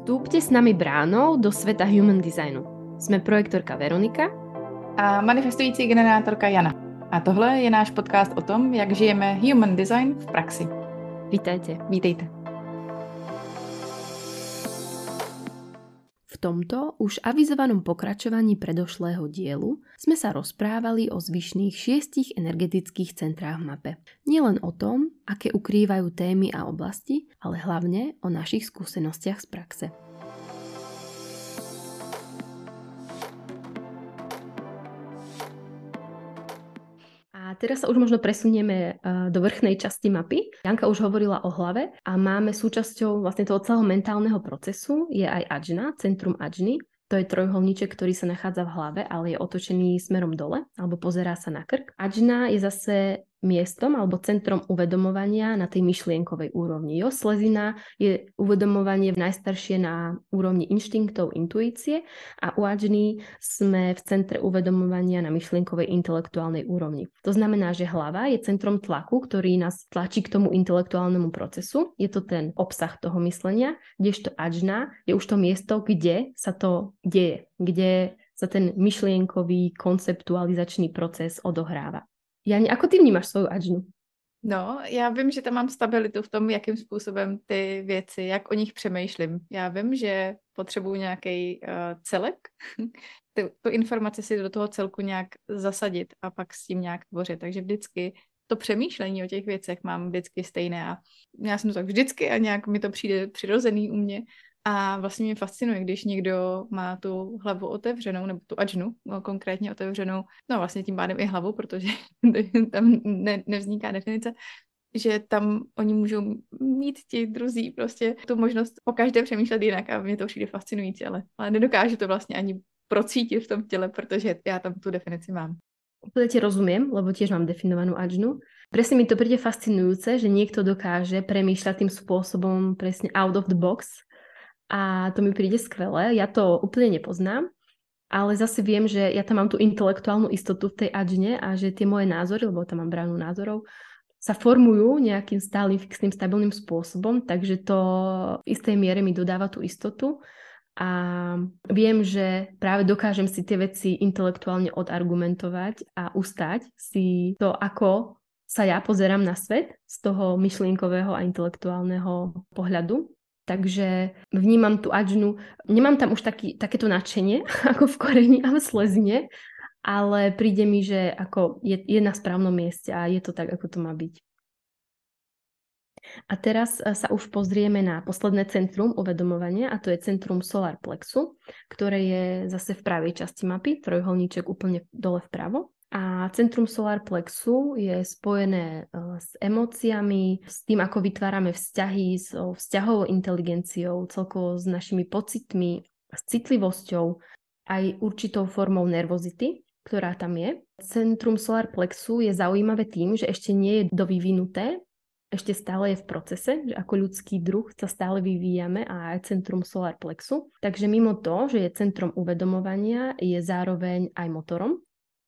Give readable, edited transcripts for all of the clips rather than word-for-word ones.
Vstúpte s nami bránou do sveta human designu. Sme projektorka Veronika a manifestující generátorka Jana. A tohle je náš podcast o tom, jak žijeme human design v praxi. Vítajte. Vítejte. V tomto už avizovanom pokračovaní predošlého dielu sme sa rozprávali o zvyšných 6 energetických centrách v mape. Nielen o tom, aké ukrývajú témy a oblasti, ale hlavne o našich skúsenostiach z praxe. A teraz sa už možno presunieme do vrchnej časti mapy. Janka už hovorila o hlave a máme súčasťou vlastne toho celého mentálneho procesu je aj Ajna, centrum Ajny. To je trojuholníček, ktorý sa nachádza v hlave, ale je otočený smerom dole, alebo pozerá sa na krk. Ajna je zase miestom alebo centrom uvedomovania na tej myšlienkovej úrovni. Jo, slezina je uvedomovanie najstaršie na úrovni inštinktov, intuície a u Ajny sme v centre uvedomovania na myšlienkovej intelektuálnej úrovni. To znamená, že hlava je centrom tlaku, ktorý nás tlačí k tomu intelektuálnemu procesu. Je to ten obsah toho myslenia, kdežto Ajna je už to miesto, kde sa to deje, kde sa ten myšlienkový konceptualizačný proces odohráva. Jani, ako ty vnímáš svoju Ajnu? No, já vím, že tam mám stabilitu v tom, jakým způsobem ty věci, jak o nich přemýšlím. Já vím, že potřebuju nějaký celek, tu informaci si do toho celku nějak zasadit a pak s tím nějak tvořit. Takže vždycky to přemýšlení o těch věcech mám vždycky stejné a já jsem to tak vždycky a nějak mi to přijde přirozený u mě. A vlastně mě fascinuje, když někdo má tu hlavu otevřenou, nebo tu Ajnu konkrétně otevřenou, no vlastně tím pádem i hlavu, protože tam nevzniká definice, že tam oni můžou mít ti druzí prostě tu možnost po každé přemýšlet jinak a mě to přijde fascinující, ale nedokážu to vlastně ani procítit v tom těle, protože já tam tu definici mám. Úplne ti rozumiem, lebo tiež mám definovanú Ajnu. Presne mi to príde fascinujúce, že niekto dokáže premýšľať tým spôsobom presne out of the box a to mi príde skvelé. Ja to úplne nepoznám, ale zase viem, že ja tam mám tú intelektuálnu istotu v tej Ajne a že tie moje názory, lebo tam mám bránu názorov, sa formujú nejakým stálym, fixným, stabilným spôsobom, takže to v istej miere mi dodáva tú istotu. A viem, že práve dokážem si tie veci intelektuálne odargumentovať a ustať si to, ako sa ja pozerám na svet z toho myšlienkového a intelektuálneho pohľadu. Takže vnímam tú Ajnu, nemám tam už takéto nadšenie ako v koreni a v slezine, ale príde mi, že ako je na správnom mieste a je to tak, ako to má byť. A teraz sa už pozrieme na posledné centrum uvedomovania a to je centrum solar plexu, ktoré je zase v pravej časti mapy, trojuholníček úplne dole vpravo. A centrum solar plexu je spojené s emóciami, s tým, ako vytvárame vzťahy, s vzťahovou inteligenciou, celkovo s našimi pocitmi, s citlivosťou, aj určitou formou nervozity, ktorá tam je. Centrum solar plexu je zaujímavé tým, že ešte nie je dovyvinuté, ešte stále je v procese, že ako ľudský druh sa stále vyvíjame a aj centrum solar plexu. Takže mimo to, že je centrom uvedomovania, je zároveň aj motorom.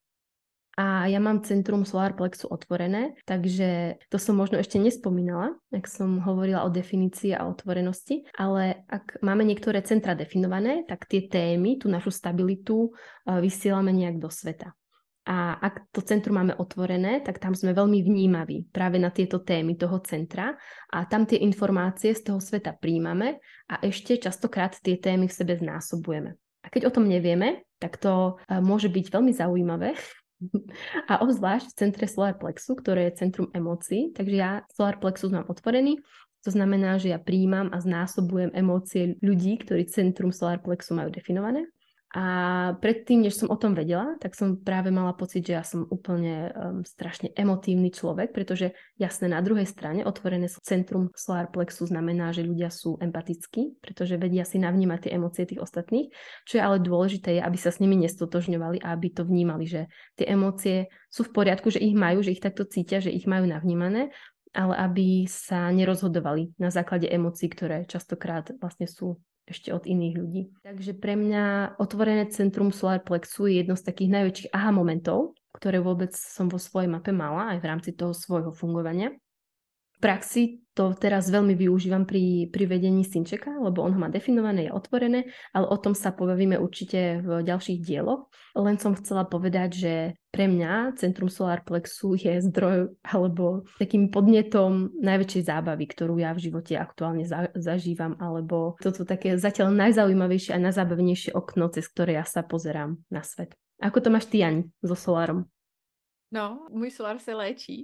A ja mám centrum solar plexu otvorené, takže to som možno ešte nespomínala, ak som hovorila o definícii a otvorenosti, ale ak máme niektoré centra definované, tak tie témy, tú našu stabilitu vysielame nejak do sveta. A ak to centrum máme otvorené, tak tam sme veľmi vnímaví práve na tieto témy toho centra a tam tie informácie z toho sveta príjmame a ešte častokrát tie témy v sebe znásobujeme. A keď o tom nevieme, tak to môže byť veľmi zaujímavé a obzvlášť v centre solar plexu, ktoré je centrum emócií, takže ja solar plexus mám otvorený, to znamená, že ja príjmam a znásobujem emócie ľudí, ktorí centrum solar plexu majú definované. A predtým, než som o tom vedela, tak som práve mala pocit, že ja som úplne strašne emotívny človek, pretože jasné, na druhej strane otvorené centrum solar plexu znamená, že ľudia sú empatickí, pretože vedia si navnímať tie emócie tých ostatných, čo je ale dôležité, je, aby sa s nimi nestotožňovali a aby to vnímali, že tie emócie sú v poriadku, že ich majú, že ich takto cítia, že ich majú navnímané, ale aby sa nerozhodovali na základe emócií, ktoré častokrát vlastne sú ešte od iných ľudí. Takže pre mňa otvorené centrum solar plexu je jedno z takých najväčších aha momentov, ktoré vôbec som vo svojej mape mala aj v rámci toho svojho fungovania. praxi to teraz veľmi využívam pri vedení synčeka, lebo on ho má definované, je otvorené, ale o tom sa pobavíme určite v ďalších dieloch. Len som chcela povedať, že pre mňa centrum solar plexu je zdroj alebo takým podnetom najväčšej zábavy, ktorú ja v živote aktuálne zažívam, alebo toto také zatiaľ najzaujímavejšie a najzábavnejšie okno, cez ktoré ja sa pozerám na svet. Ako to máš ty, Ani, so solárom? No, můj solar se léčí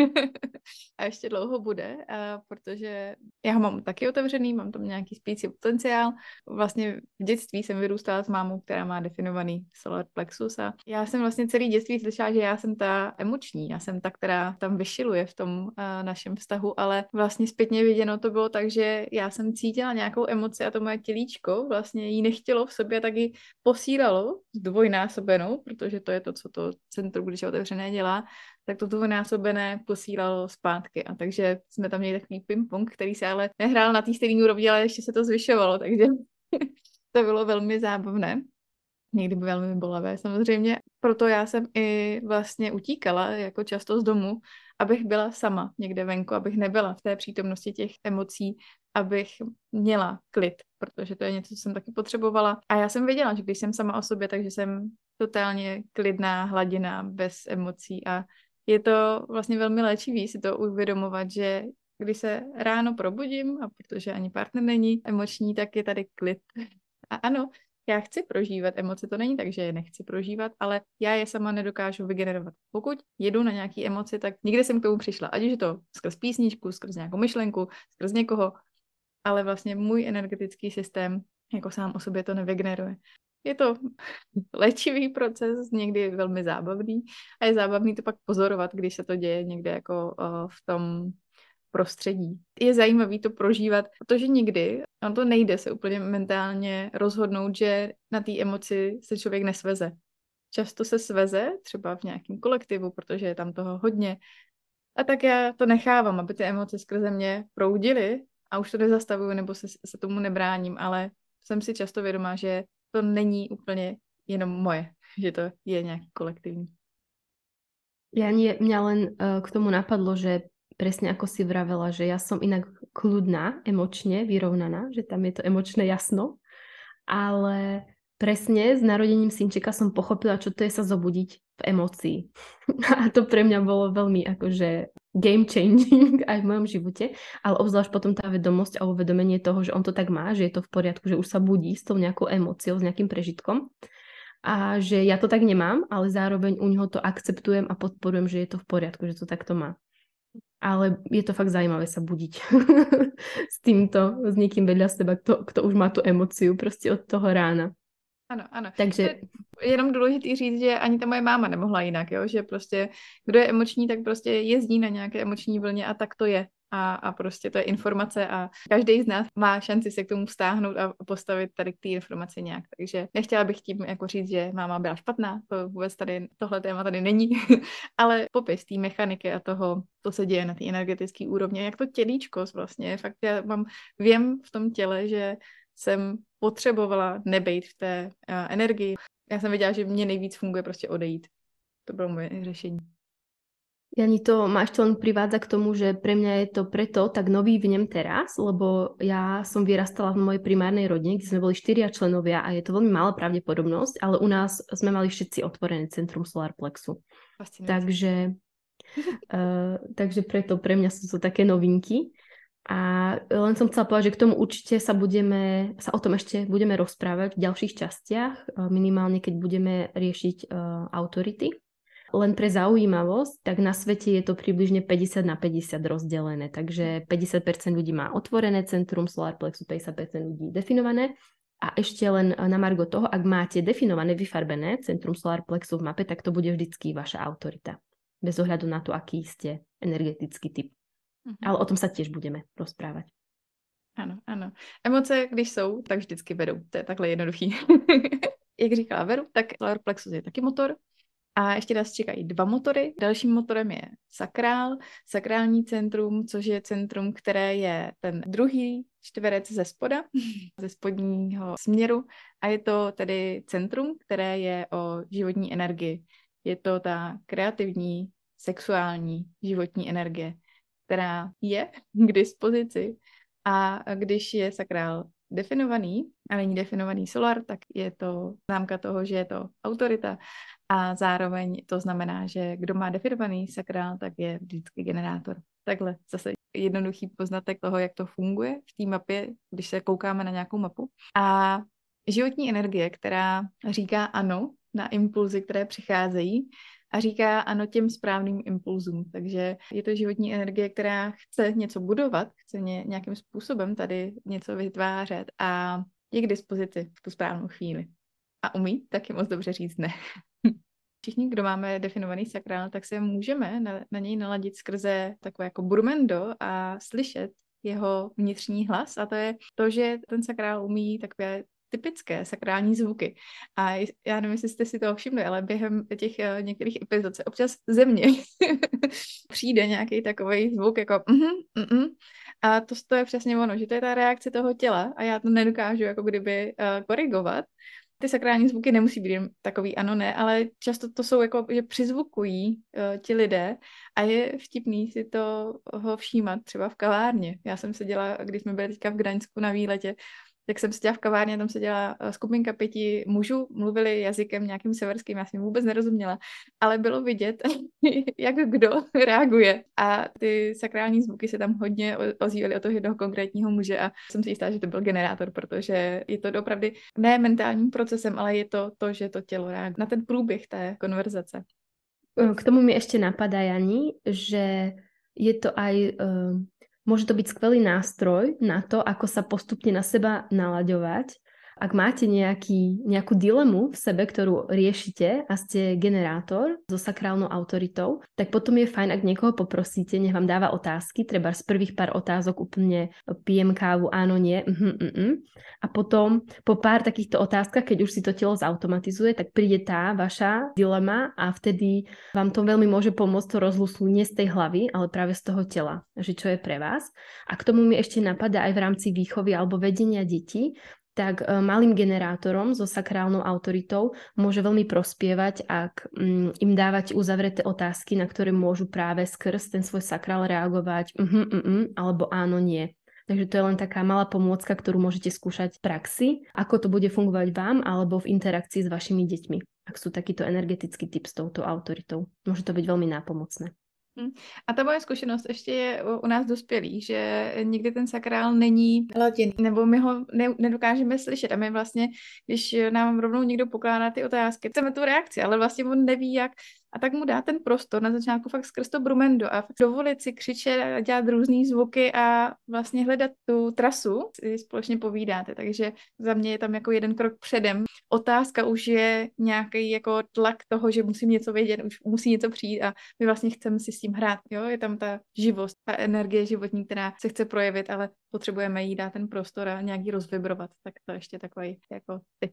a ještě dlouho bude, protože já ho mám taky otevřený, mám tam nějaký spící potenciál. Vlastně v dětství jsem vyrůstala s mámou, která má definovaný solar plexus a já jsem vlastně celý dětství slyšela, že já jsem ta emoční, já jsem ta, která tam vyšiluje v tom našem vztahu, ale vlastně zpětně viděno to bylo tak, že já jsem cítila nějakou emoci a to moje tělíčko vlastně jí nechtělo v sobě, tak ji posílalo zdvojnásobenou, protože to je to, co to centrum, když je otevřené, dělá, tak to dvojnásobené posílalo zpátky. A takže jsme tam měli takový ping-pong, který se ale nehrál na té stejné úrovni, ale ještě se to zvyšovalo, takže to bylo velmi zábavné. Někdy by velmi bolavé samozřejmě. Proto já jsem i vlastně utíkala jako často z domu, abych byla sama někde venku, abych nebyla v té přítomnosti těch emocí, abych měla klid, protože to je něco, co jsem taky potřebovala. A já jsem věděla, že když jsem sama o sobě, takže jsem totálně klidná, hladina, bez emocí a je to vlastně velmi léčivý si to uvědomovat, že když se ráno probudím a protože ani partner není emoční, tak je tady klid. A ano, já chci prožívat emoce, to není tak, že je nechci prožívat, ale já je sama nedokážu vygenerovat. Pokud jedu na nějaké emoci, tak někde jsem k tomu přišla, ať už je to skrz písničku, skrz nějakou myšlenku, skrz někoho, ale vlastně můj energetický systém jako sám o sobě to nevygeneruje. Je to léčivý proces, někdy velmi zábavný a je zábavný to pak pozorovat, když se to děje někde jako v tom prostředí. Je zajímavý to prožívat, protože někdy on to nejde se úplně mentálně rozhodnout, že na té emoci se člověk nesveze. Často se sveze, třeba v nějakém kolektivu, protože je tam toho hodně. A tak já to nechávám, aby ty emoce skrze mě proudily a už to nezastavuju nebo se tomu nebráním, ale jsem si často vědomá, že to není úplně jenom moje, že to je nějaký kolektivní. Mňa len k tomu napadlo, že presne ako si vravela, že ja som inak kľudná, emočne vyrovnaná, že tam je to emočné jasno, ale presne s narodením synčeka som pochopila, čo to je sa zobudiť v emócii. A to pre mňa bolo veľmi akože game changing aj v mojom živote, ale obzvlášť potom tá vedomosť a uvedomenie toho, že on to tak má, že je to v poriadku, že už sa budí s tou nejakou emóciou, s nejakým prežitkom a že ja to tak nemám, ale zároveň u neho to akceptujem a podporujem, že je to v poriadku, že to takto má. Ale je to fakt zaujímavé sa budiť s týmto, s niekým vedľa seba, kto už má tú emóciu proste od toho rána. Ano, ano. Takže je jenom důležitý říct, že ani ta moje máma nemohla jinak, jo? Že prostě kdo je emoční, tak prostě jezdí na nějaké emoční vlně a tak to je. A prostě to je informace a každý z nás má šanci se k tomu vztáhnout a postavit tady k té informaci nějak. Takže nechtěla bych tím jako říct, že máma byla špatná, to vůbec tady, tohle téma tady není, ale popis té mechaniky a toho, co se děje na té energetické úrovni, jak to tělíčko vlastně, fakt já vím v tom těle, že jsem potřebovala nebejt v té energii. Já jsem věděla, že mě nejvíc funguje prostě odejít. To bylo moje řešení. Jani, to ma ešte len privádza k tomu, že pre mňa je to preto tak nový vnem teraz, lebo ja som vyrastala v mojej primárnej rodine, kde sme boli 4 členovia a je to veľmi malá pravdepodobnosť, ale u nás sme mali všetci otvorené centrum solar plexu. Takže preto pre mňa sú to také novinky. A len som chcela povedať, že k tomu určite sa o tom ešte budeme rozprávať v ďalších častiach, minimálne keď budeme riešiť autority. Len pre zaujímavosť, tak na svete je to približne 50/50 rozdelené, takže 50% ľudí má otvorené centrum solar plexu, 50% ľudí definované. A ešte len na margo toho, ak máte definované, vyfarbené centrum solar plexu v mape, tak to bude vždycky vaša autorita. Bez ohľadu na to, aký ste energetický typ. Ale o tom sa tiež budeme rozprávať. Ano, ano. Emoce, když jsou, tak vždycky vedou. To je takhle jednoduchý. Jak říkala Veru, tak solar plexus je taky motor. A ještě nás čekají 2 motory. Dalším motorem je sakrální centrum, což je centrum, které je ten druhý čtverec ze spoda, ze spodního směru. A je to tedy centrum, které je o životní energii. Je to ta kreativní, sexuální životní energie. která je k dispozici. A když je sakrál definovaný a není definovaný solar, tak je to známka toho, že je to autorita a zároveň to znamená, že kdo má definovaný sakrál, tak je vždycky generátor. Takhle zase jednoduchý poznatek toho, jak to funguje v té mapě, když se koukáme na nějakou mapu. A životní energie, která říká ano na impulzy, které přicházejí, a říká ano těm správným impulzům. Takže je to životní energie, která chce něco budovat, chce nějakým způsobem tady něco vytvářet a je k dispozici v tu správnou chvíli. A umí taky moc dobře říct ne. Všichni, kdo máme definovaný sakrál, tak se můžeme na něj naladit skrze takové jako burmendo a slyšet jeho vnitřní hlas. A to je to, že ten sakrál umí takové typické sakrální zvuky. A já nevím, jestli jste si toho všimli, ale během těch některých epizod se občas ze mě přijde nějaký takový zvuk jako a to je přesně ono, že to je ta reakce toho těla a já to nedokážu jako kdyby korigovat. Ty sakrální zvuky nemusí být takový ano, ne, ale často to jsou jako, že přizvukují ti lidé a je vtipný si toho všímat třeba v kavárně. Já jsem seděla, když jsme byli teďka v Gdaňsku na výletě, tak jsem seděla v kavárně, tam seděla skupinka 5 mužů, mluvili jazykem nějakým severským, já jsem vůbec nerozuměla, ale bylo vidět, jak kdo reaguje. A ty sakrální zvuky se tam hodně ozývaly od toho jednoho konkrétního muže a jsem si jistá, že to byl generátor, protože je to opravdu ne mentálním procesem, ale je to, že to tělo reaguje na ten průběh té konverzace. K tomu mi ešte napadá, Jani, že je to aj... Môže to byť skvelý nástroj na to, ako sa postupne na seba nalaďovať. Ak máte nejakú dilemu v sebe, ktorú riešite a ste generátor so sakrálnou autoritou, tak potom je fajn, ak niekoho poprosíte, nech vám dáva otázky, treba z prvých pár otázok úplne pijem kávu, áno, nie, a potom po pár takýchto otázkach, keď už si to telo zautomatizuje, tak príde tá vaša dilema a vtedy vám to veľmi môže pomôcť to rozhlusnúť nie z tej hlavy, ale práve z toho tela, že čo je pre vás. A k tomu mi ešte napadá aj v rámci výchovy alebo vedenia detí, tak malým generátorom so sakrálnou autoritou môže veľmi prospievať, ak im dávať uzavreté otázky, na ktoré môžu práve skrz ten svoj sakrál reagovať alebo áno, nie. Takže to je len taká malá pomôcka, ktorú môžete skúšať v praxi, ako to bude fungovať vám alebo v interakcii s vašimi deťmi, ak sú takýto energetický typ s touto autoritou. Môže to byť veľmi nápomocné. A ta moje zkušenost ještě je u nás dospělých, že někdy ten sakrál není laděný, nebo my ho nedokážeme slyšet a my vlastně, když nám rovnou někdo pokládá ty otázky, chceme tu reakci, ale vlastně on neví jak a tak mu dá ten prostor na začátku fakt skrz to brumendo a dovolit si křičet a dělat různý zvuky a vlastně hledat tu trasu, si společně povídáte, takže za mě je tam jako jeden krok předem. Otázka už je nějaký jako tlak toho, že musím něco vědět, už musí něco přijít a my vlastně chceme si s tím hrát, jo, je tam ta živost, ta energie životní, která se chce projevit, ale potřebujeme jí dát ten prostor a nějak ji rozvibrovat, tak to ještě takový jako tip.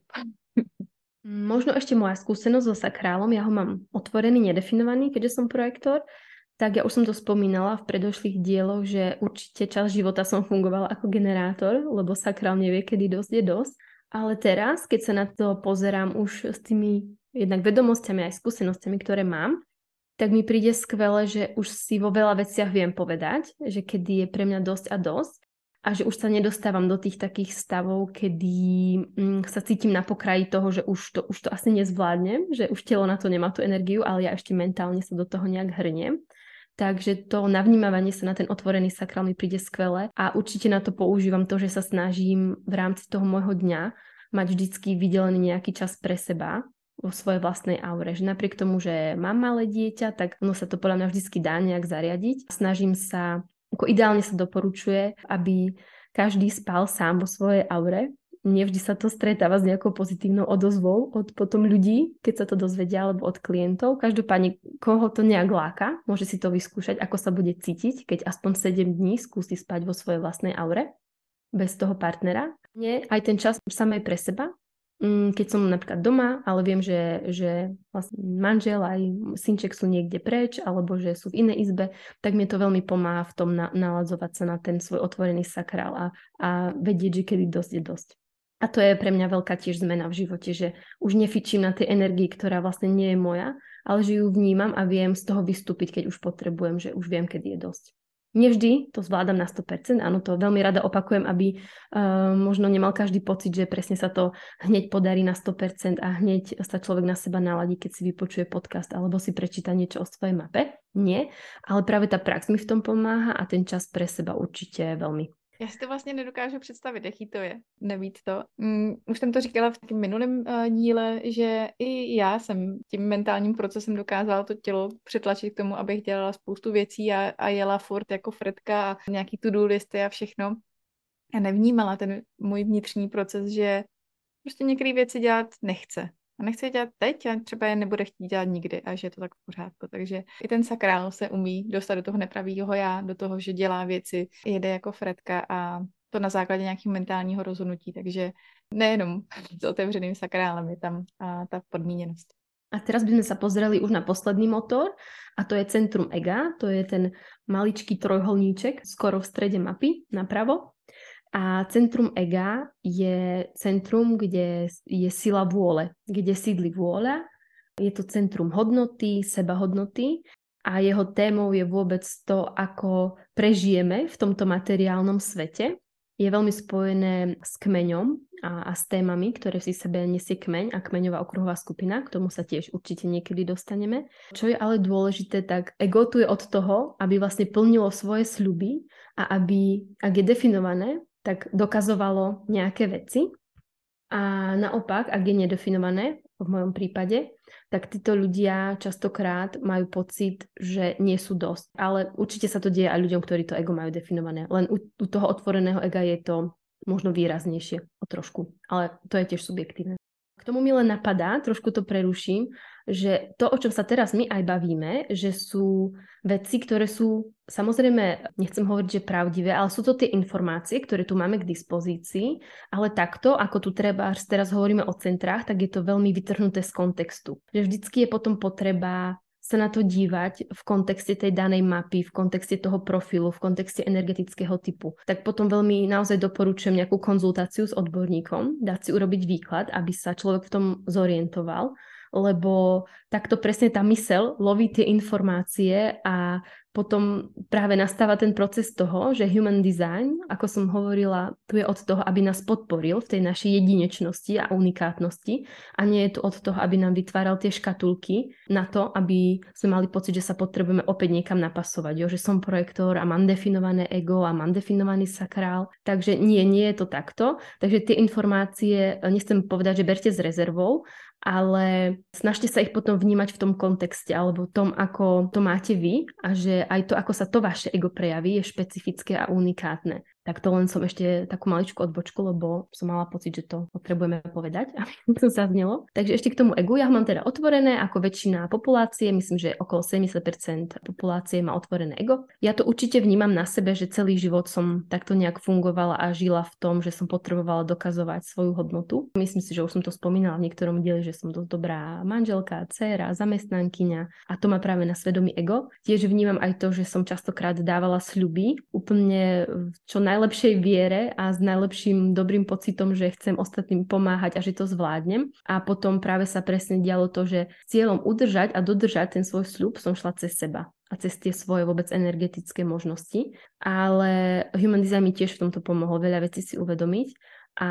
Možno ešte moja skúsenosť so sakrálom, ja ho mám otvorený, nedefinovaný, keďže som projektor, tak ja už som to spomínala v predošlých dieloch, že určite časť života som fungovala ako generátor, lebo sakrál nevie, kedy dosť je dosť. Ale teraz, keď sa na to pozerám už s tými jednak vedomosťami aj skúsenostiami, ktoré mám, tak mi príde skvelé, že už si vo veľa veciach viem povedať, že kedy je pre mňa dosť a dosť. A že už sa nedostávam do tých takých stavov, kedy sa cítim na pokraji toho, že už to asi nezvládnem, že už telo na to nemá tú energiu, ale ja ešte mentálne sa do toho nejak hrniem. Takže to navnímavanie sa na ten otvorený sakrál mi príde skvelé a určite na to používam to, že sa snažím v rámci toho môjho dňa mať vždycky vydelený nejaký čas pre seba vo svojej vlastnej aure. Že napriek tomu, že mám malé dieťa, tak ono sa to podľa mňa vždycky dá nejak zariadiť. Snažím sa, ako ideálne sa doporučuje, aby každý spal sám vo svojej aure. Nevždy sa to stretáva s nejakou pozitívnou odozvou od potom ľudí, keď sa to dozvedia, alebo od klientov. Každopádne, koho to nejak láka, môže si to vyskúšať, ako sa bude cítiť, keď aspoň 7 dní skúsi spať vo svojej vlastnej aure, bez toho partnera. Nie, aj ten čas samej pre seba, keď som napríklad doma, ale viem, že vlastne manžel aj synček sú niekde preč, alebo že sú v inej izbe, tak mi to veľmi pomáha v tom naladzovať sa na ten svoj otvorený sakrál a vedieť, že kedy dosť je dosť. A to je pre mňa veľká tiež zmena v živote, že už nefičím na tej energii, ktorá vlastne nie je moja, ale že ju vnímam a viem z toho vystúpiť, keď už potrebujem, že už viem, kedy je dosť. Nevždy to zvládam na 100%, áno, to veľmi rada opakujem, aby možno nemal každý pocit, že presne sa to hneď podarí na 100% a hneď sa človek na seba naladí, keď si vypočuje podcast alebo si prečíta niečo o svojej mape. Nie, ale práve tá prax mi v tom pomáha a ten čas pre seba určite veľmi. Já si to vlastně nedokážu představit, jaký to je, nebýt to. Už jsem to říkala v tom minulém díle, že i já jsem tím mentálním procesem dokázala to tělo přetlačit k tomu, abych dělala spoustu věcí a jela furt jako Fredka a nějaký to-do listy a všechno. A nevnímala ten můj vnitřní proces, že prostě některé věci dělat nechce. A nechce je dělat teď a třeba je nebude chtít dělat nikdy a že je to tak v pořádku. Takže i ten sakrál se umí dostat do toho nepravýho já, do toho, že dělá věci, jede jako Fredka a to na základě nějakého mentálního rozhodnutí. Takže nejenom s otevřeným sakrálem je tam ta podmíněnost. A teraz by sme sa pozreli už na posledný motor a to je centrum ega, to je ten maličký trojholníček skoro v strede mapy napravo. A centrum ega je centrum, kde je sila vôle, kde sídli vôľa. Je to centrum hodnoty, sebahodnoty a jeho témou je vôbec to, ako prežijeme v tomto materiálnom svete. Je veľmi spojené s kmeňom a s témami, ktoré si sebe nesie kmeň a kmeňová okruhová skupina. K tomu sa tiež určite niekedy dostaneme. Čo je ale dôležité, tak ego tu je od toho, aby vlastne plnilo svoje sľuby a aby, ak je definované, tak dokazovalo nejaké veci. A naopak, ak je nedefinované, v mojom prípade, tak títo ľudia častokrát majú pocit, že nie sú dosť. Ale určite sa to deje aj ľuďom, ktorí to ego majú definované. Len u toho otvoreného ega je to možno výraznejšie o trošku. Ale to je tiež subjektívne. K tomu mi len napadá, trošku to preruším, že to, o čom sa teraz my aj bavíme, že sú veci, ktoré sú, samozrejme, nechcem hovoriť, že pravdivé, ale sú to tie informácie, ktoré tu máme k dispozícii, ale takto, ako tu teraz hovoríme o centrách, tak je to veľmi vytrhnuté z kontextu. Že vždycky je potom potreba sa na to dívať v kontexte tej danej mapy, v kontexte toho profilu, v kontexte energetického typu. Tak potom veľmi naozaj doporučujem nejakú konzultáciu s odborníkom, dať si urobiť výklad, aby sa človek v tom zorientoval, lebo takto presne tá myseľ loví tie informácie a potom práve nastáva ten proces toho, že human design, ako som hovorila, tu je od toho, aby nás podporil v tej našej jedinečnosti a unikátnosti a nie je tu od toho, aby nám vytváral tie škatulky na to, aby sme mali pocit, že sa potrebujeme opäť niekam napasovať, že som projektor a mám definované ego a mám definovaný sakrál. Takže nie je to takto. Takže tie informácie, nechcem povedať, že berte s rezervou, ale snažte sa ich potom vnímať v tom kontexte alebo tom, ako to máte vy a že aj to, ako sa to vaše ego prejaví, je špecifické a unikátne. Tak to len som ešte takú maličku odbočku, lebo som mala pocit, že to potrebujeme povedať, aby to zaznelo. Takže ešte k tomu egu, ja ho mám teda otvorené, ako väčšina populácie, myslím, že okolo 70% populácie má otvorené ego. Ja to určite vnímam na sebe, že celý život som takto nejak fungovala a žila v tom, že som potrebovala dokazovať svoju hodnotu. Myslím si, že už som to spomínala v niektorom dieli, že som dosť dobrá manželka, dcéra, zamestnankyňa a to má práve na svedomí ego. Tiež vnímam aj to, že som častokrát dávala sľuby úplne čo najlepšej viere a s najlepším dobrým pocitom, že chcem ostatným pomáhať a že to zvládnem. A potom práve sa presne dialo to, že s cieľom udržať a dodržať ten svoj sľub som šla cez seba a cez tie svoje vôbec energetické možnosti. Ale Human Design mi tiež v tomto pomohol veľa vecí si uvedomiť a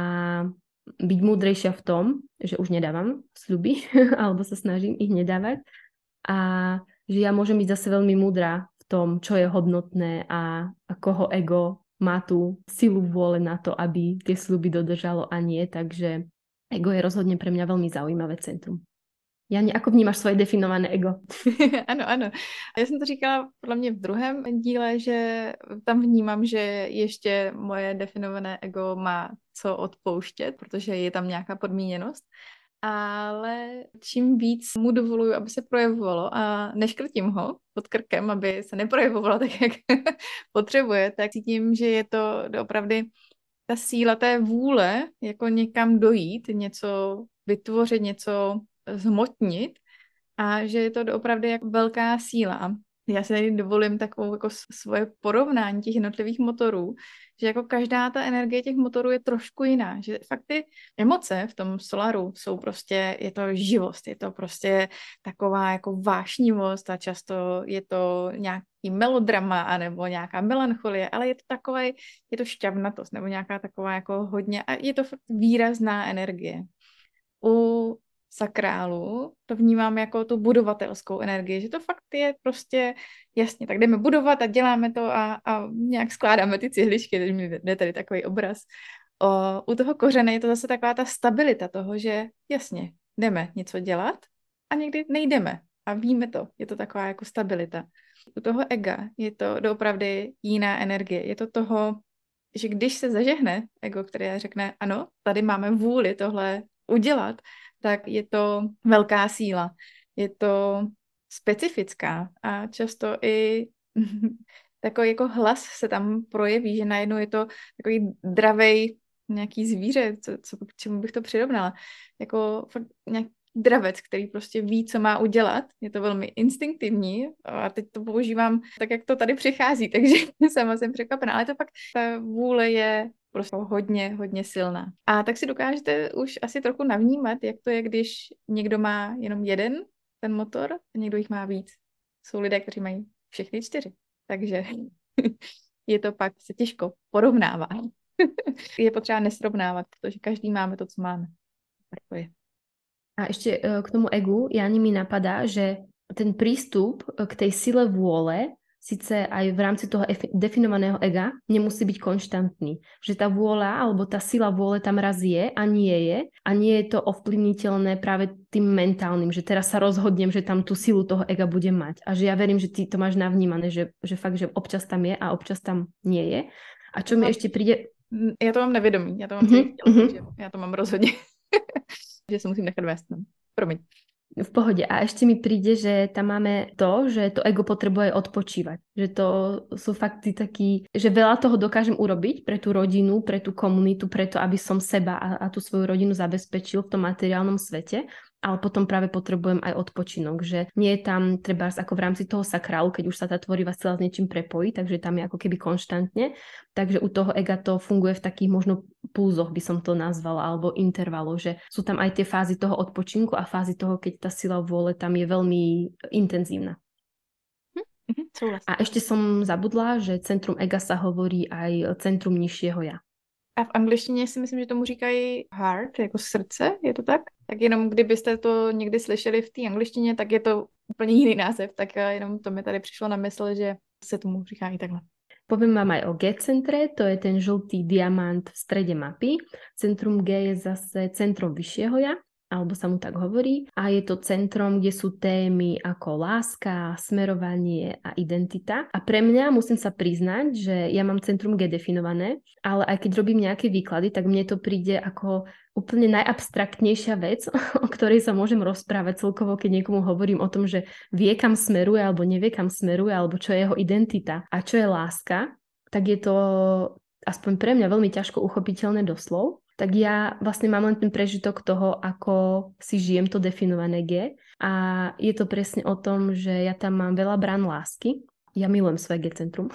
byť múdrejšia v tom, že už nedávam sľuby alebo sa snažím ich nedávať a že ja môžem byť zase veľmi múdra v tom, čo je hodnotné a koho ego má tú silu vôle na to, aby tie sľuby dodržalo a nie, takže ego je rozhodne pre mňa veľmi zaujímavé centrum. Jani, ako vnímáš svoje definované ego? Ano. Já jsem to říkala podle mě v druhém díle, že tam vnímám, že ještě moje definované ego má co odpouštět, protože je tam nějaká podmíněnost. Ale čím víc mu dovoluju, aby se projevovalo a neškrtím ho pod krkem, aby se neprojevovalo tak, jak potřebuje, tak cítím, že je to opravdu ta síla té vůle, jako někam dojít, něco vytvořit, něco zhmotnit a že je to opravdu jako velká síla. Já si tady dovolím takovou jako svoje porovnání těch jednotlivých motorů, že jako každá ta energie těch motorů je trošku jiná, že fakt ty emoce v tom solaru jsou prostě, je to živost, je to prostě taková jako vášnivost a často je to nějaký melodrama anebo nějaká melancholie, ale je to takové, je to šťavnatost nebo nějaká taková jako hodně, a je to fakt výrazná energie. U sakrálu to vnímám jako tu budovatelskou energii, že to fakt je prostě jasně, tak jdeme budovat a děláme to a nějak skládáme ty cihličky, teď mi jde tady takový obraz. U toho kořene je to zase taková ta stabilita toho, že jasně, jdeme něco dělat a někdy nejdeme a víme to, je to taková jako stabilita. U toho ega je to doopravdy jiná energie, je to toho, že když se zažehne ego, které řekne, ano, tady máme vůli tohle udělat, tak je to velká síla. Je to specifická a často i takový jako hlas se tam projeví, že najednou je to takový dravej nějaký zvíře, k čemu bych to přirovnala. Jako fakt nějaký dravec, který prostě ví, co má udělat. Je to velmi instinktivní a teď to používám tak, jak to tady přichází, takže sama jsem překvapená. Ale to fakt, ta vůle je prostě hodně, hodně silná. A tak si dokážete už asi trochu navnímat, jak to je, když někdo má jenom jeden ten motor a někdo jich má víc. Jsou lidé, kteří mají všechny 4. Takže je to pak se těžko porovnává. Je potřeba nesrovnávat, protože každý máme to, co máme. Tak to je. A ešte k tomu egu, Jani, mi napadá, že ten prístup k tej sile vôle, síce aj v rámci toho definovaného ega, nemusí byť konštantný. Že tá vôľa, alebo tá sila vôle tam raz je a nie je to ovplyvniteľné práve tým mentálnym, že teraz sa rozhodnem, že tam tú silu toho ega budem mať. A že ja verím, že ty to máš navnímané, že fakt, že občas tam je a občas tam nie je. A čo mi ešte príde... Ja to mám nevědomí, já to mám celý chtěl, takže já to mám rozhodně. Že se musím nechat vést. Promiň. V pohode. A ešte mi príde, že tam máme to, že to ego potrebuje odpočívať. Že to sú fakty taký, že veľa toho dokážem urobiť pre tú rodinu, pre tú komunitu, preto, aby som seba a tú svoju rodinu zabezpečil v tom materiálnom svete, ale potom práve potrebujem aj odpočinok, že nie je tam trebárs ako v rámci toho sakrálu, keď už sa tá tvorivá sila s niečím prepojí, takže tam je ako keby konštantne, takže u toho ega to funguje v takých možno pulzoch, by som to nazvala, alebo intervaloch, že sú tam aj tie fázy toho odpočinku a fázy toho, keď tá sila vôle tam je veľmi intenzívna. A ešte som zabudla, že centrum ega sa hovorí aj centrum nižšieho ja. A v angličtině si myslím, že tomu říkají heart, jako srdce, je to tak? Tak jenom kdybyste to někdy slyšeli v té angličtině, tak je to úplně jiný název, tak jenom to mi tady přišlo na mysl, že se tomu říká i takhle. Poviem vám aj o G-centre, to je ten žltý diamant v strede mapy. Centrum G je zase centrom vyššieho ja, alebo sa mu tak hovorí. A je to centrom, kde sú témy ako láska, smerovanie a identita. A pre mňa musím sa priznať, že ja mám centrum G definované, ale aj keď robím nejaké výklady, tak mne to príde ako úplne najabstraktnejšia vec, o ktorej sa môžem rozprávať celkovo, keď niekomu hovorím o tom, že vie, kam smeruje, alebo nevie, kam smeruje, alebo čo je jeho identita a čo je láska, tak je to aspoň pre mňa veľmi ťažko uchopiteľné doslov. Tak ja vlastne mám len ten prežitok toho, ako si žijem to definované G. A je to presne o tom, že ja tam mám veľa brán lásky. Ja milujem svoje G-centrum.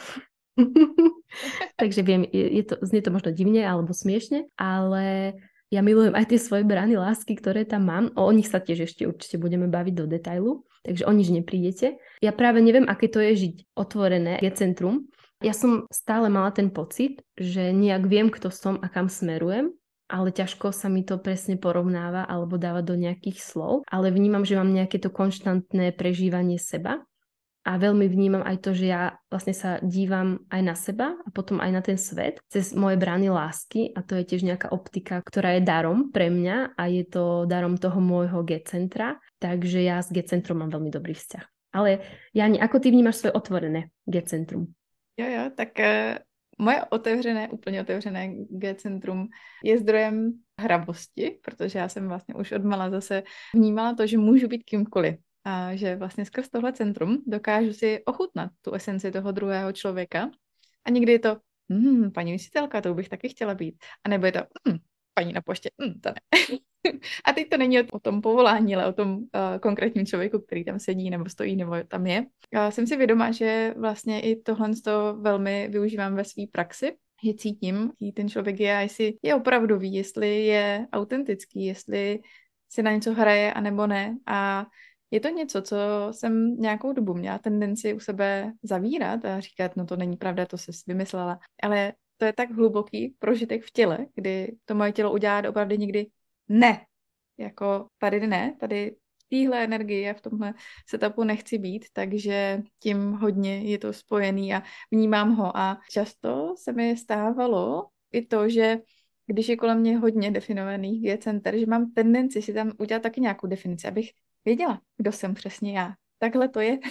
Takže viem, znie to možno divne alebo smiešne, ale ja milujem aj tie svoje brány lásky, ktoré tam mám. O nich sa tiež ešte určite budeme baviť do detailu, takže o nič neprídete. Ja práve neviem, aké to je žiť otvorené G-centrum. Ja som stále mala ten pocit, že nejak viem, kto som a kam smerujem, ale ťažko sa mi to presne porovnáva alebo dáva do nejakých slov, ale vnímam, že mám nejaké to konštantné prežívanie seba a veľmi vnímam aj to, že ja vlastne sa dívam aj na seba a potom aj na ten svet cez moje brány lásky a to je tiež nejaká optika, ktorá je darom pre mňa a je to darom toho môjho G-centra, takže ja s G-centrom mám veľmi dobrý vzťah. Ale Jani, ako ty vnímaš svoje otvorené G-centrum? Jo, tak... Moje úplně otevřené G-centrum je zdrojem hravosti, protože já jsem vlastně už odmala zase vnímala to, že můžu být kýmkoliv. A že vlastně skrz tohle centrum dokážu si ochutnat tu esenci toho druhého člověka. A někdy je to, paní vysitelka, to bych taky chtěla být. A nebo je to, paní na poště, to ne. A teď to není o tom povolání, ale o tom konkrétním člověku, který tam sedí nebo stojí nebo tam je. Jsem si vědoma, že vlastně i tohle velmi využívám ve své praxi, že cítím, jaký ten člověk je a jestli je opravdový, jestli je autentický, jestli si na něco hraje a nebo ne. A je to něco, co jsem nějakou dobu měla tendenci u sebe zavírat a říkat, no to není pravda, to jsi vymyslela. Ale to je tak hluboký prožitek v těle, kdy to moje tělo udělá opravdu někdy ne. Jako tady ne, tady v téhle energii a v tomhle setupu nechci být, takže tím hodně je to spojený a vnímám ho. A často se mi stávalo i to, že když je kolem mě hodně definovaných G-center, že mám tendenci si tam udělat taky nějakou definici, abych věděla, kdo jsem přesně já. Takhle to je,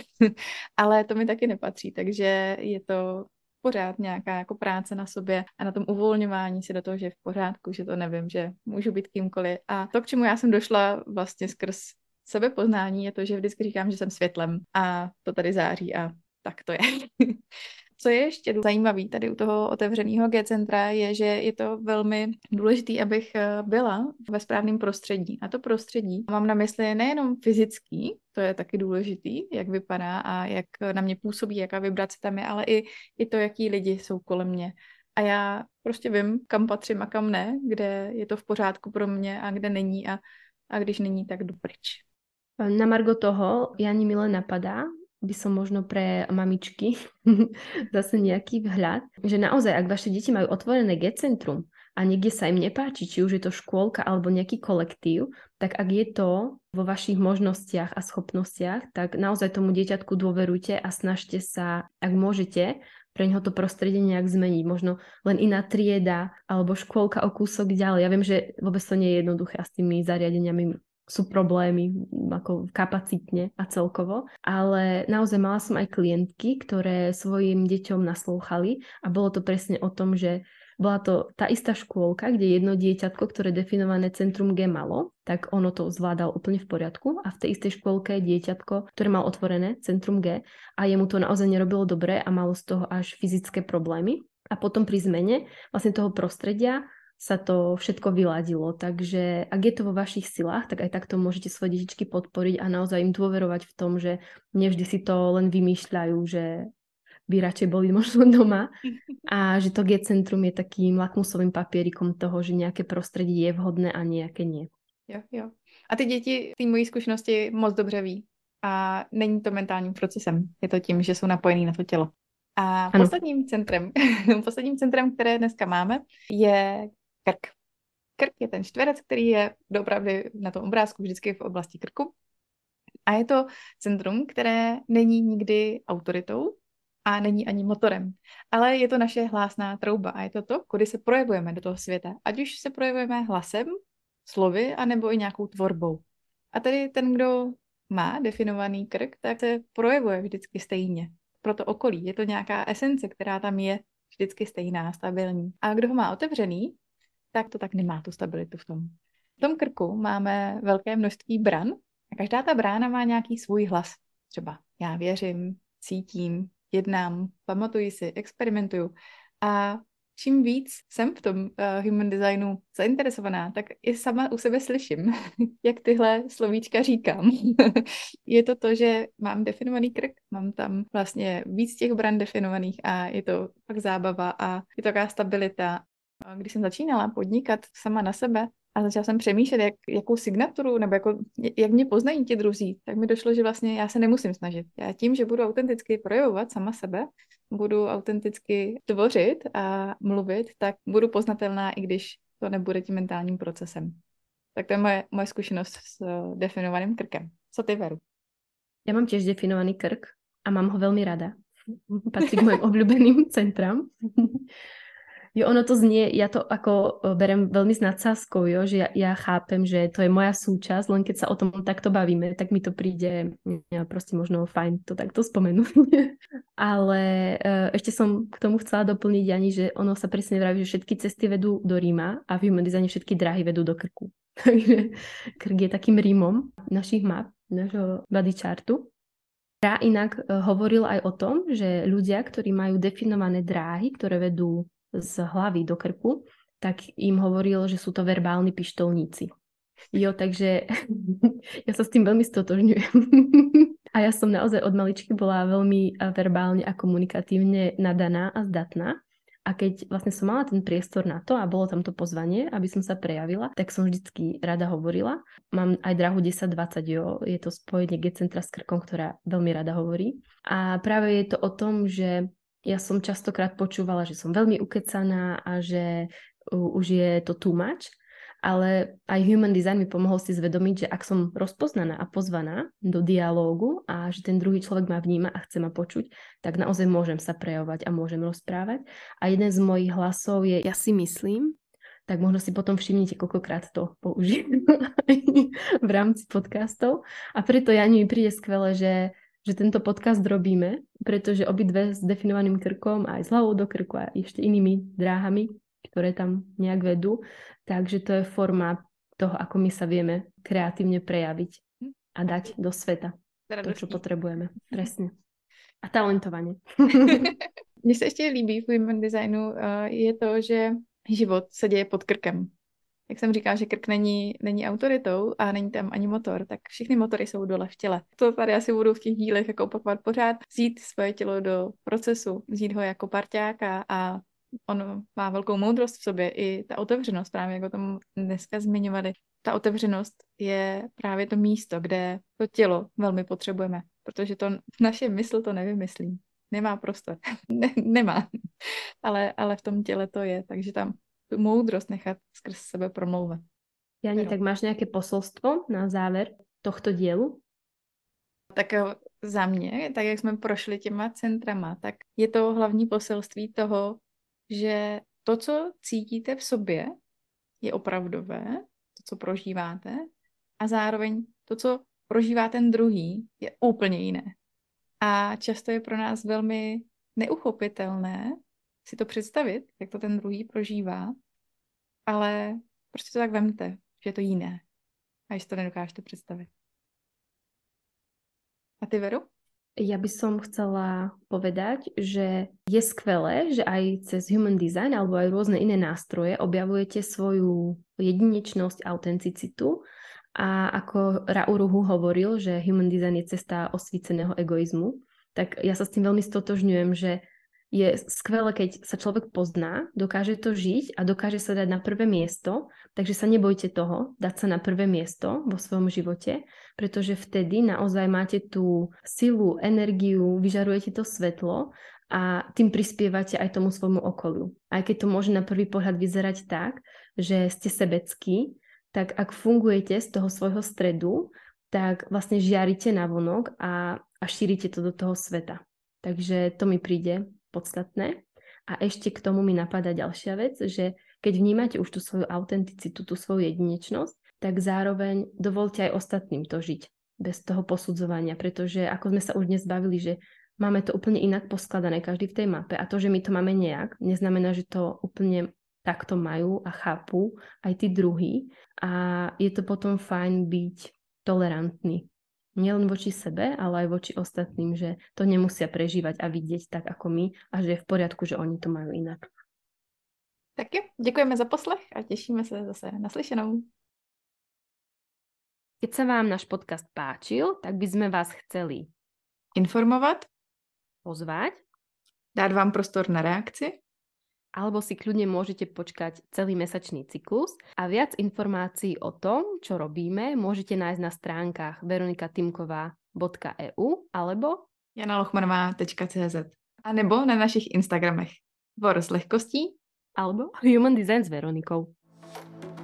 ale to mi taky nepatří, takže je to pořád nějaká jako práce na sobě a na tom uvolňování si do toho, že je v pořádku, že to nevím, že můžu být kýmkoliv. A to, k čemu já jsem došla vlastně skrz sebepoznání, je to, že vždycky říkám, že jsem světlem a to tady září a tak to je. Co je ještě zajímavé tady u toho otevřeného G-centra je, že je to velmi důležité, abych byla ve správném prostředí. A to prostředí mám na mysli nejenom fyzický, to je taky důležitý, jak vypadá a jak na mě působí, jaká vibrace tam je, ale i to, jaký lidi jsou kolem mě. A já prostě vím, kam patřím a kam ne, kde je to v pořádku pro mě a kde není a když není, tak jdu pryč. Na margo toho, Jani, mi len napadá, by som možno pre mamičky zase nejaký vhľad, že naozaj, ak vaše deti majú otvorené G-centrum a niekde sa im nepáči, či už je to škôlka alebo nejaký kolektív, tak ak je to vo vašich možnostiach a schopnostiach, tak naozaj tomu dieťatku dôverujte a snažte sa, ak môžete, pre neho to prostredie nejak zmeniť. Možno len iná trieda alebo škôlka o kúsok ďalej. Ja viem, že vôbec to nie je jednoduché a s tými zariadeniami sú problémy ako kapacitne a celkovo, ale naozaj mala som aj klientky, ktoré svojim deťom naslúchali a bolo to presne o tom, že bola to tá istá škôlka, kde jedno dieťatko, ktoré definované centrum G malo, tak ono to zvládalo úplne v poriadku a v tej istej škôlke dieťatko, ktoré mal otvorené centrum G a jemu to naozaj nerobilo dobre a malo z toho až fyzické problémy. A potom pri zmene vlastne toho prostredia sa to všetko vyladilo. Takže ak je to vo vašich silách, tak aj takto môžete svoje detičky podporiť a naozaj im dôverovať v tom, že nevždy si to len vymýšľajú, že by radšej boli možno doma a že to G-centrum je takým lakmusovým papierikom toho, že nejaké prostredí je vhodné a nejaké nie. Jo. A ty děti té mojí zkušenosti moc dobře ví. A není to mentálním procesem. Je to tím, že jsou napojený na to tělo. A posledním centrem, které dneska máme, je krk. Krk je ten čtverec, který je doopravdy na tom obrázku vždycky v oblasti krku. A je to centrum, které není nikdy autoritou a není ani motorem. Ale je to naše hlásná trouba a je to to, kudy se projevujeme do toho světa. Ať už se projevujeme hlasem, slovy, anebo i nějakou tvorbou. A tady ten, kdo má definovaný krk, tak se projevuje vždycky stejně. Pro to okolí. Je to nějaká esence, která tam je vždycky stejná, stabilní. A kdo ho má otevřený, tak to tak nemá tu stabilitu v tom. V tom krku máme velké množství bran a každá ta brána má nějaký svůj hlas. Třeba já věřím, cítím, jednám, pamatuji si, experimentuju. A čím víc jsem v tom human designu zainteresovaná, tak i sama u sebe slyším, jak tyhle slovíčka říkám. Je to to, že mám definovaný krk, mám tam vlastně víc těch bran definovaných a je to fakt zábava a je to taková stabilita. Když jsem začínala podnikat sama na sebe a začala jsem přemýšlet, jakou signaturu nebo jak mě poznají ti druzí, tak mi došlo, že vlastně já se nemusím snažit. Já tím, že budu autenticky projevovat sama sebe, budu autenticky tvořit a mluvit, tak budu poznatelná, i když to nebude tím mentálním procesem. Tak to je moje zkušenost s definovaným krkem. Co ty, Veru? Ja mám tiež definovaný krk a mám ho veľmi rada. Patrí k mojim obľúbeným centram. Jo, ono to znie, ja to ako berem veľmi s nadsázkou, jo, že ja chápem, že to je moja súčasť, len keď sa o tom takto bavíme, tak mi to príde proste možno fajn to takto spomenúť. Ale ešte som k tomu chcela doplniť, Jani, že ono sa presne vraví, že všetky cesty vedú do Ríma a v human designe všetky dráhy vedú do krku. Takže krk je takým Rímom našich map, našho body chartu. Ja inak hovoril aj o tom, že ľudia, ktorí majú definované dráhy, ktoré vedú z hlavy do krku, tak im hovoril, že sú to verbálni pištolníci. Jo, takže ja sa s tým veľmi stotožňujem. A ja som naozaj od maličky bola veľmi verbálne a komunikatívne nadaná a zdatná. A keď vlastne som mala ten priestor na to a bolo tam to pozvanie, aby som sa prejavila, tak som vždycky rada hovorila. Mám aj dráhu 10-20, jo, je to spojenie G-centra s krkom, ktorá veľmi rada hovorí. A práve je to o tom, že ja som častokrát počúvala, že som veľmi ukecaná a že už je to too much. Ale aj human design mi pomohol si zvedomiť, že ak som rozpoznaná a pozvaná do dialógu a že ten druhý človek ma vníma a chce ma počuť, tak naozaj môžem sa prejavovať a môžem rozprávať. A jeden z mojich hlasov je ja si myslím, tak možno si potom všimnite, koľkokrát to použijem v rámci podcastov. A preto Jani mi príde skvelé, že tento podcast robíme, pretože obidve s definovaným krkom, aj s hlavou do krku a ešte inými dráhami, ktoré tam nejak vedú. Takže to je forma toho, ako my sa vieme kreatívne prejaviť a dať do sveta to, čo potrebujeme. Presne. A talentovanie. Mně se ještě líbí v human designu je to, že život se děje pod krkem. Jak jsem říkala, že krk není autoritou a není tam ani motor, tak všechny motory jsou dole v těle. To tady asi budu v těch dílech jako opakovat pořád. Vzít svoje tělo do procesu, vzít ho jako parťáka a on má velkou moudrost v sobě, i ta otevřenost, právě jak o tom dneska zmiňovali. Ta otevřenost je právě to místo, kde to tělo velmi potřebujeme, protože to naše mysl to nevymyslí. Nemá prostor. Nemá. Ale v tom těle to je, takže tam tu moudrost nechat skrz sebe promlouvat. Jani, tak máš nějaké posolstvo na závěr tohto dílu? Tak za mě, tak jak jsme prošli těma centrama, tak je to hlavní poselství toho, že to, co cítíte v sobě, je opravdové, to, co prožíváte, a zároveň to, co prožívá ten druhý, je úplně jiné. A často je pro nás velmi neuchopitelné si to představit, jak to ten druhý prožívá, ale prostě to tak vemte, že je to jiné. A jestli to nedokážete představit. A ty, Veru? Ja by som chcela povedať, že je skvelé, že aj cez human design alebo aj rôzne iné nástroje objavujete svoju jedinečnosť, autenticitu a ako Rauruhu hovoril, že human design je cesta osvíceného egoizmu, tak ja sa s tým veľmi stotožňujem, že je skvelé, keď sa človek pozná, dokáže to žiť a dokáže sa dať na prvé miesto, takže sa nebojte toho, dať sa na prvé miesto vo svojom živote, pretože vtedy naozaj máte tú silu, energiu, vyžarujete to svetlo a tým prispievate aj tomu svojmu okoliu. Aj keď to môže na prvý pohľad vyzerať tak, že ste sebeckí, tak ak fungujete z toho svojho stredu, tak vlastne žiarite navonok a šírite to do toho sveta. Takže to mi príde podstatné. A ešte k tomu mi napadá ďalšia vec, že keď vnímate už tú svoju autenticitu, tú svoju jedinečnosť, tak zároveň dovolte aj ostatným to žiť bez toho posudzovania, pretože ako sme sa už dnes bavili, že máme to úplne inak poskladané každý v tej mape a to, že my to máme nejak, neznamená, že to úplne takto majú a chápu aj tí druhí a je to potom fajn byť tolerantný. Nielen voči sebe, ale aj voči ostatným, že to nemusia prežívať a vidieť tak ako my a že je v poriadku, že oni to majú inak. Tak jo, děkujeme za poslech a těšíme se zase naslyšenou. Keď sa vám náš podcast páčil, tak by sme vás chceli informovat, pozvať, dát vám prostor na reakci, alebo si kľudne môžete počkať celý mesačný cyklus a viac informácií o tom, čo robíme, môžete nájsť na stránkach veronikatimková.eu alebo janalochmanová.cz a nebo na našich Instagramech Vor s lehkostí alebo Human Design s Veronikou.